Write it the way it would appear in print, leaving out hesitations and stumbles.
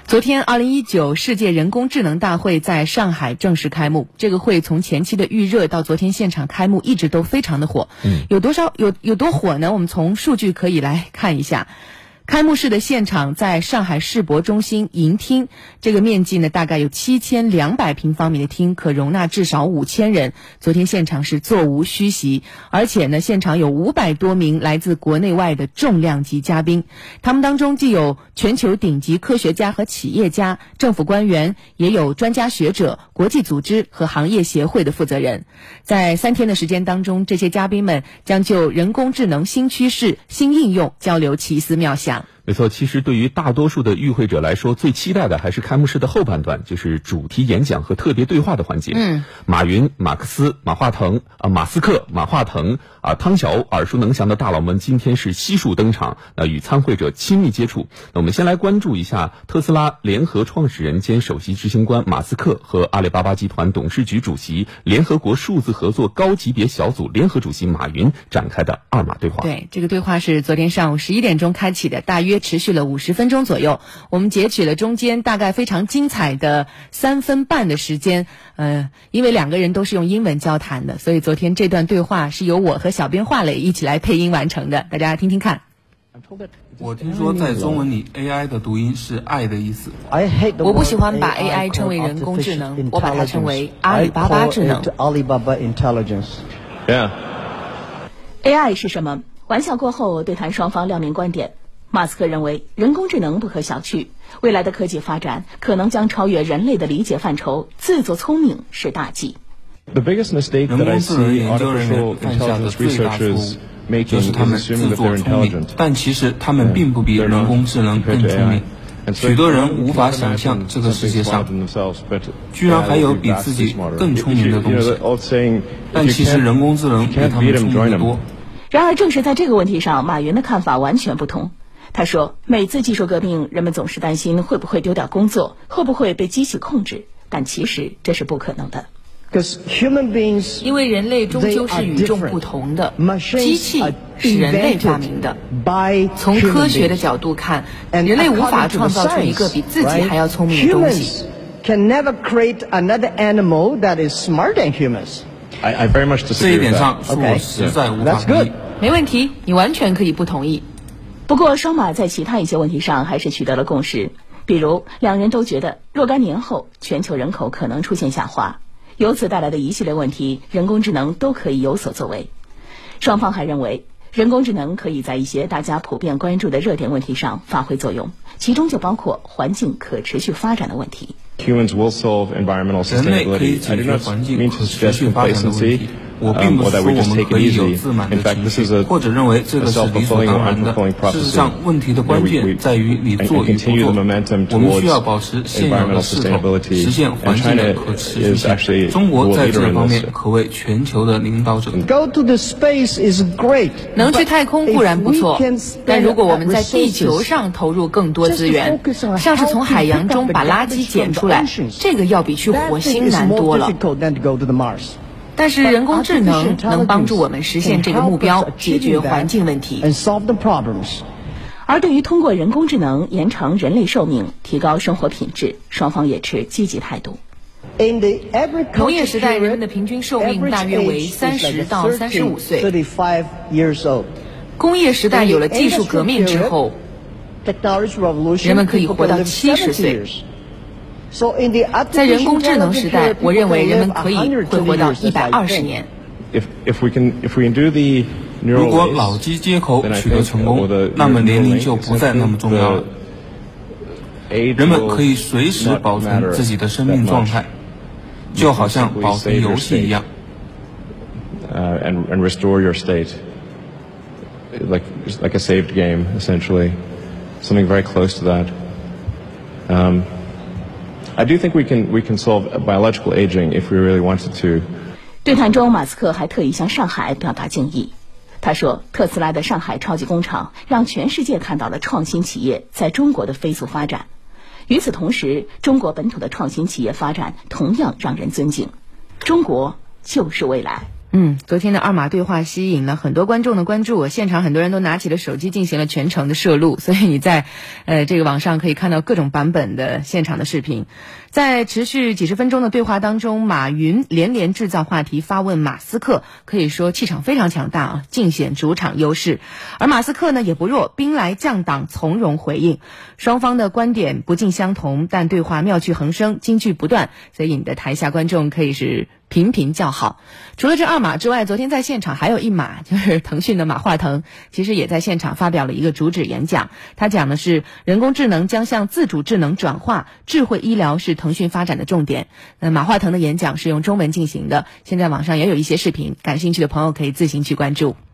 昨天2019世界人工智能大会在上海正式开幕。这个会从前期的预热到昨天现场开幕，一直都非常的火。有多火呢？我们从数据可以来看一下。开幕式的现场在上海世博中心银厅，这个面积呢大概有7200平方米的厅，可容纳至少5000人。昨天现场是座无虚席，而且呢现场有500多名来自国内外的重量级嘉宾，他们当中既有全球顶级科学家和企业家、政府官员，也有专家学者、国际组织和行业协会的负责人。在3天的时间当中，这些嘉宾们将就人工智能新趋势、新应用交流奇思妙想。 没错，其实对于大多数的与会者来说，最期待的还是开幕式的后半段，就是主题演讲和特别对话的环节。马云、马克思、马斯克、马化腾汤小欧耳熟能详的大佬们今天是悉数登场，与参会者亲密接触。那我们先来关注一下特斯拉联合创始人兼首席执行官马斯克和阿里巴巴集团董事局主席、联合国数字合作高级别小组联合主席马云展开的二码对话。 对，这个对话是昨天上午11点钟开启的，大约持续了50分钟左右。我们截取了中间大概非常精彩的3分半的时间。因为2个人都是用英文交谈的，所以昨天这段对话是由我和小编华磊一起来配音完成的，大家听听看。 我听说在中文里 AI 的读音是爱的意思。 我不喜欢把 AI 称为人工智能，我把它称为阿里巴巴智能。 AI 是什么？玩笑过后，对谈双方亮明观点。马斯克认为人工智能不可小觑，未来的科技发展可能将超越人类的理解范畴，自作聪明是大忌。 人工智能研究人员犯下的最大错误就是他们自作聪明，但其实他们并不比人工智能更聪明。许多人无法想象这个世界上居然还有比自己更聪明的东西，但其实人工智能比他们聪明得多。 然而正是在这个问题上，马云的看法完全不同。他说，每次技术革命，人们总是担心会不会丢掉工作，会不会被机器控制，但其实这是不可能的。 因为人类终究是与众不同的，机器是人类发明的。从科学的角度看，人类无法创造出一个比自己还要聪明的东西。 这一点上，我实在无法同意。 没问题，你完全可以不同意。 不过双马在其他一些问题上还是取得了共识，比如2人都觉得若干年后全球人口可能出现下滑，由此带来的一系列问题，人工智能都可以有所作为。双方还认为人工智能可以在一些大家普遍关注的热点问题上发挥作用，其中就包括环境可持续发展的问题。 人类可以解决环境可持续发展的问题。我并不是说我们可以有自满的情绪，或者认为这个是理所当然的。事实上，问题的关键在于你做与不做。我们需要保持现有的势头，实现环境的可持续性。中国在这方面可谓全球的领导者。 能去太空固然不错，但如果我们在地球上投入更多资源，像是从海洋中把垃圾捡出来，这个要比去火星难多了。但是人工智能能帮助我们实现这个目标，解决环境问题。 而对于通过人工智能延长人类寿命、提高生活品质，双方也持积极态度。 农业时代人们的平均寿命大约为30到35岁。工业时代有了技术革命之后，人们可以活到70岁。在人工智能时代，我认为人们会活到120年。 如果脑机接口取得成功，那么年龄就不再那么重要了。人们可以随时保存自己的生命状态，就好像保存游戏一样。 And restore your state, like a saved game, essentially, something very close to that. I do think we can solve biological aging if we really wanted to. 对谈中，马斯克还特意向上海表达敬意。他说，特斯拉的上海超级工厂让全世界看到了创新企业在中国的飞速发展。与此同时，中国本土的创新企业发展同样让人尊敬。中国就是未来。 昨天的二马对话吸引了很多观众的关注，现场很多人都拿起了手机进行了全程的摄录，所以你在这个网上可以看到各种版本的现场的视频。在持续几十分钟的对话当中，马云连连制造话题发问马斯克，可以说气场非常强大啊，尽显主场优势。而马斯克呢也不弱，兵来将挡，从容回应。双方的观点不尽相同，但对话妙趣横生，金句不断，所以你的台下观众可以是频频叫好。除了这二马之外，昨天在现场还有一马，就是腾讯的马化腾，其实也在现场发表了一个主旨演讲。他讲的是人工智能将向自主智能转化，智慧医疗是腾讯发展的重点。马化腾的演讲是用中文进行的，现在网上也有一些视频，感兴趣的朋友可以自行去关注。